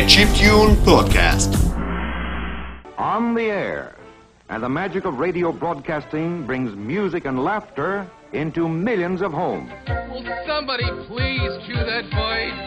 Chip Tune Podcast. On the air, and the magic of radio broadcasting brings music and laughter into millions of homes. Will somebody please cue that voice?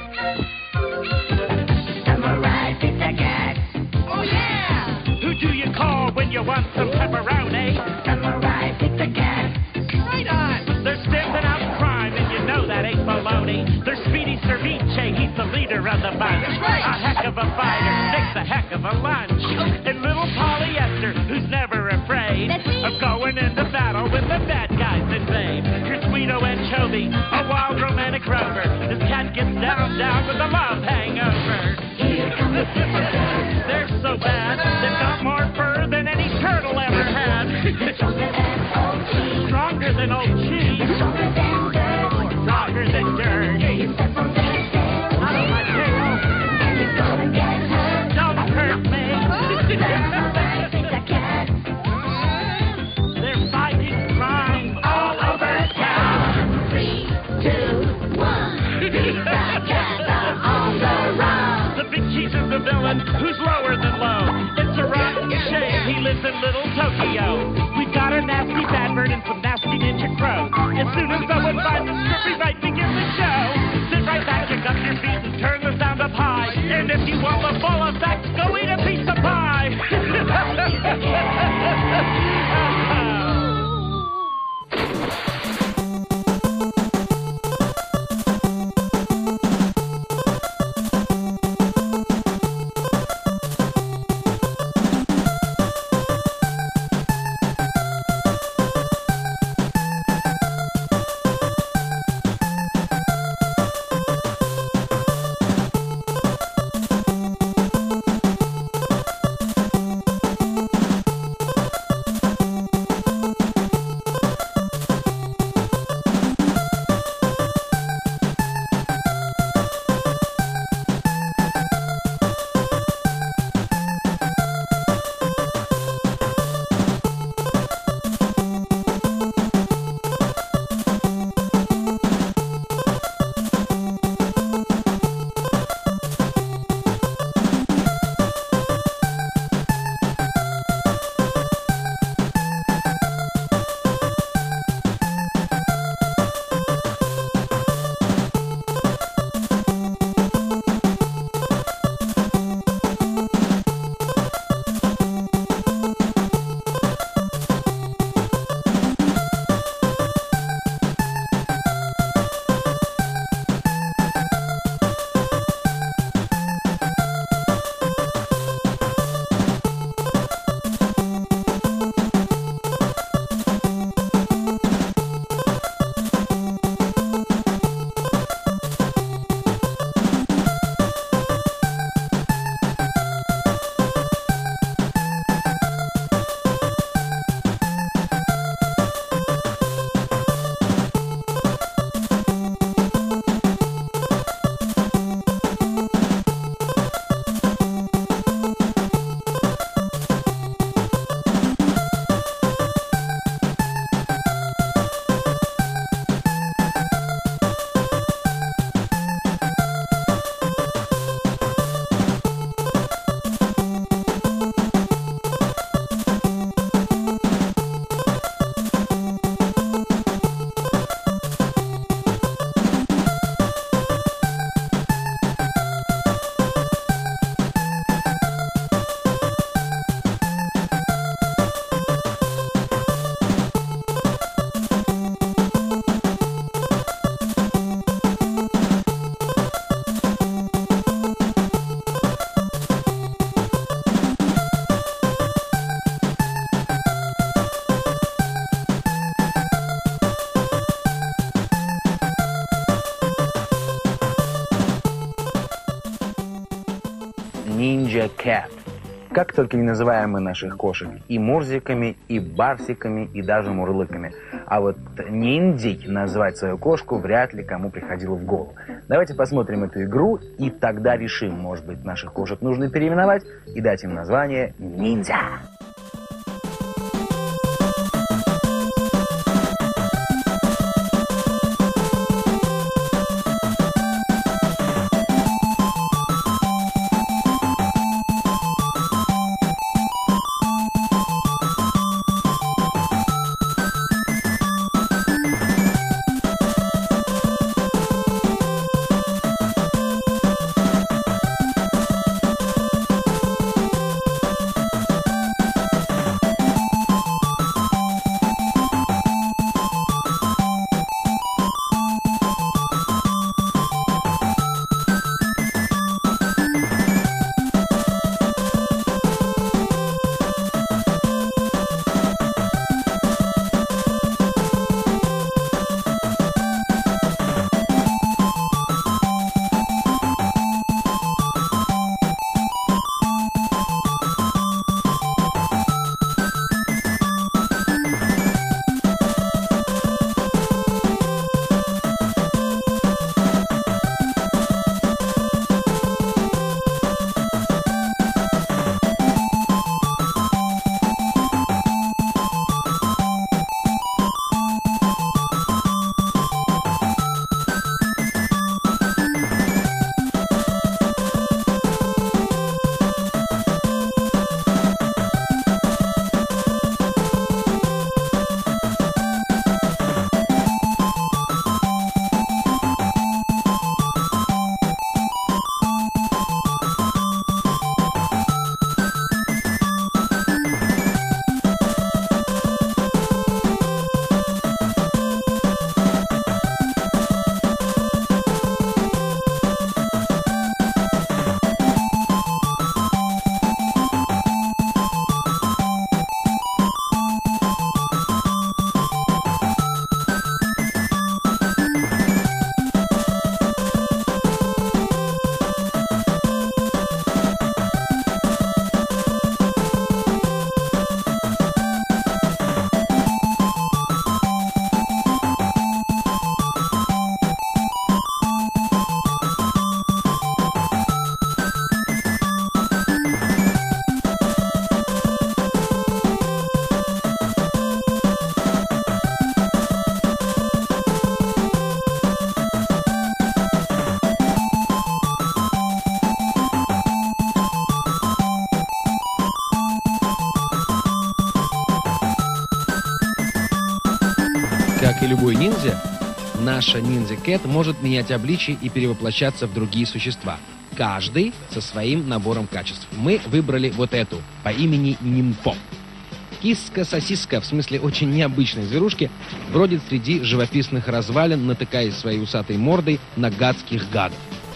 Samurai Pizza Cat. Oh, yeah! Who do you call when you want some pepperoni? Samurai Pizza Cat. Right on! They're stamping out crime, and you know that ain't baloney. They're Speedy Cerviche, he's the leader of the bunch. That's right. A heck of a fighter, makes a heck of a lunch. And little Polyester, who's never afraid of going into battle when the bad guys invade. Your Sweeto Anchovy, a wild romantic rover. This cat gets down with a love hangover. Here comes the Pizza Cat. They're so bad, they've got more fur than any turtle ever had. Stronger than old cheese. Stronger than old cheese. Stronger than dirt. Stronger than dirt. You step on their tail. Out of my tail. And you're gonna get hurt. Don't hurt me. Samurai Pizza Cat. They're fighting crime all over town. 3, 2, 1. Pizza Cat on the run. The big cheese is the villain who's lower than low. It's a rotten shame he lives in little Tokyo. We've got a nasty bad bird and some nasty ninja crows. As soon as someone finds a script, we might begin the show. Sit right back, kick up your feet, and turn the sound up high. And if you want the full effect, go eat a piece of pie. Ninja Cat. Как только не называем мы наших кошек и мурзиками, и барсиками, и даже мурлыками. А вот ниндзей назвать свою кошку вряд ли кому приходило в голову. Давайте посмотрим эту игру, и тогда решим, может быть, наших кошек нужно переименовать и дать им название ниндзя. как и любой ниндзя, наша ниндзя-кэт может менять обличие и перевоплощаться в другие существа. Каждый со своим набором качеств. Мы выбрали вот эту, по имени Нимпо. Киска-сосиска, в смысле очень необычной зверушки, бродит среди живописных развалин, натыкаясь своей усатой мордой на гадских гадов.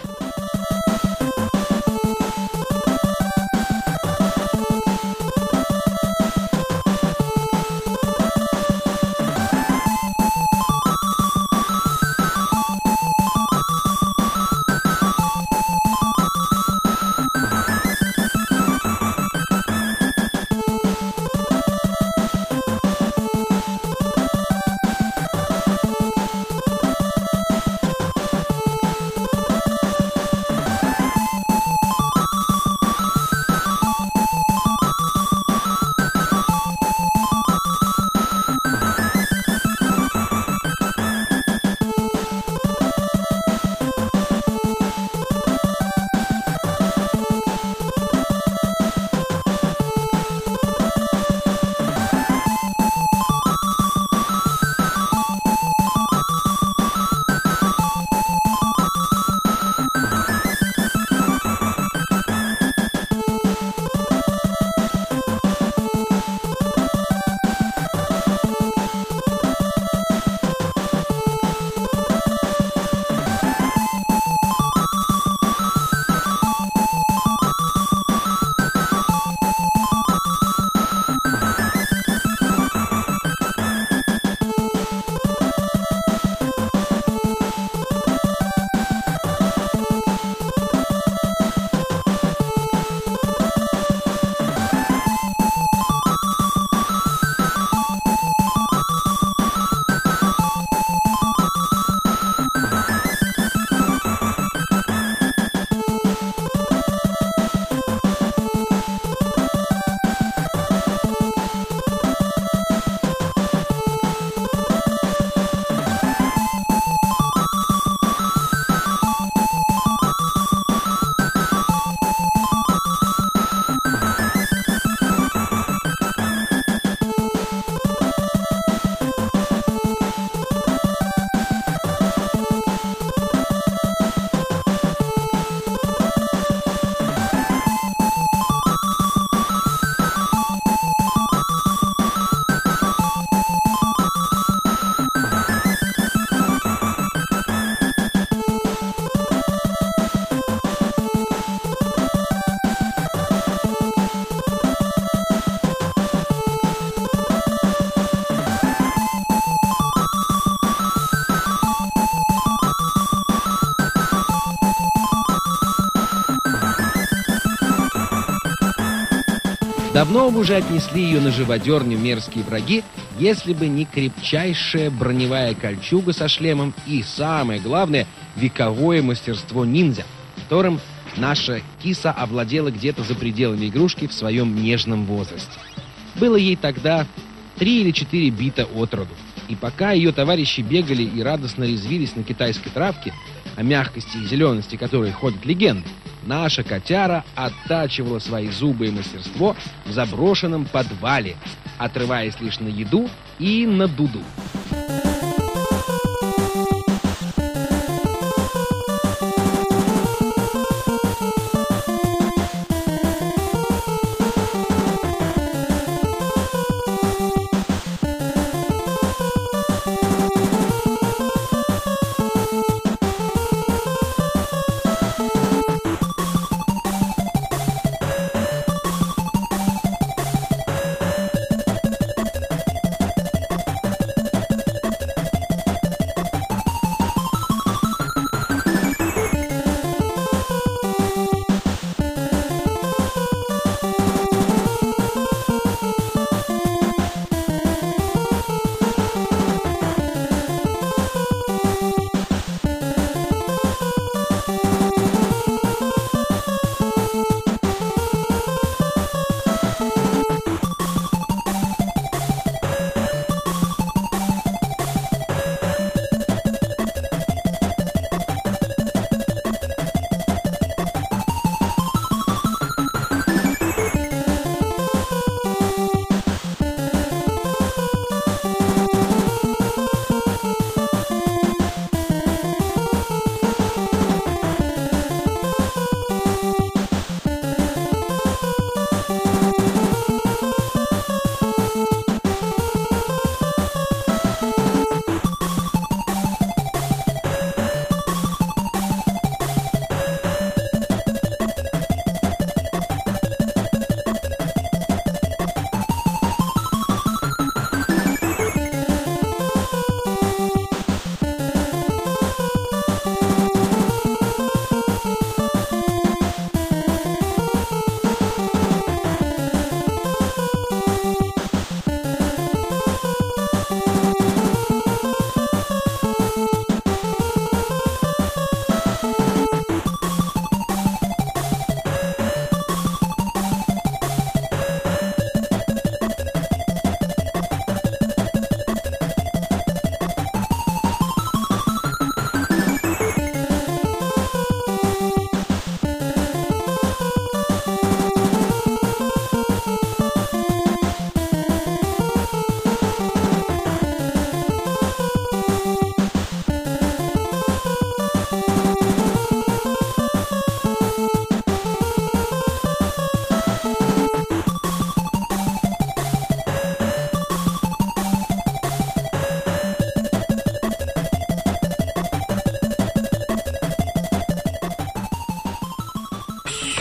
Давно бы уже отнесли ее на живодерню мерзкие враги, если бы не крепчайшая броневая кольчуга со шлемом и, самое главное, вековое мастерство ниндзя, которым наша киса овладела где-то за пределами игрушки в своем нежном возрасте. Было ей тогда 3 или 4 бита от роду. И пока ее товарищи бегали и радостно резвились на китайской травке, о мягкости и зелености которой ходят легенды, наша котяра оттачивала свои зубы и мастерство в заброшенном подвале, отрываясь лишь на еду и на дуду.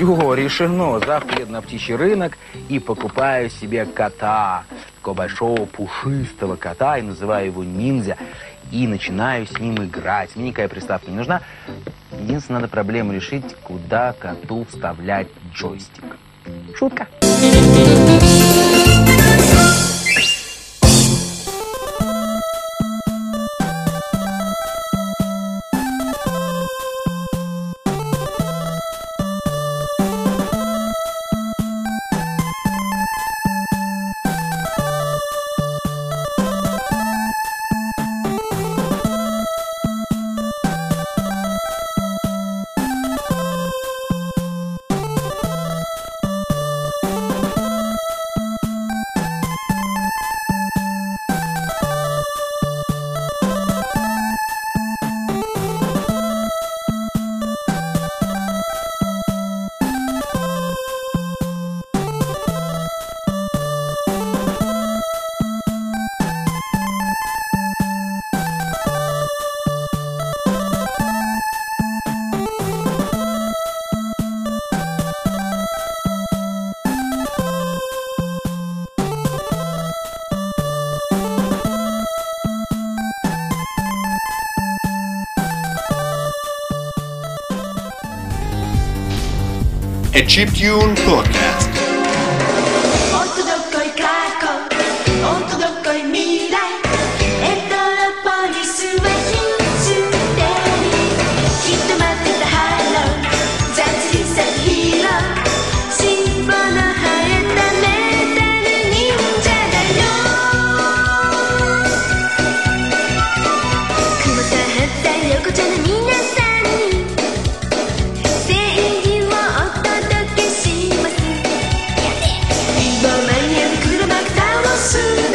Все, решено. Завтра еду на птичий рынок и покупаю себе кота. Такого большого пушистого кота, и называю его Ниндзя. И начинаю с ним играть. Мне никакая приставка не нужна. Единственное, надо проблему решить, куда коту вставлять джойстик. Шутка. A Chiptune Podcast. おっとどっこい過去おっとどっこい未来エトロポリスはヒステリーきっと待ってたハロー雑にさヒーロー尻尾の生えたメタル忍者だよ雲さはった横丁の皆さんに正義をお届けします。今間に合う黒幕倒す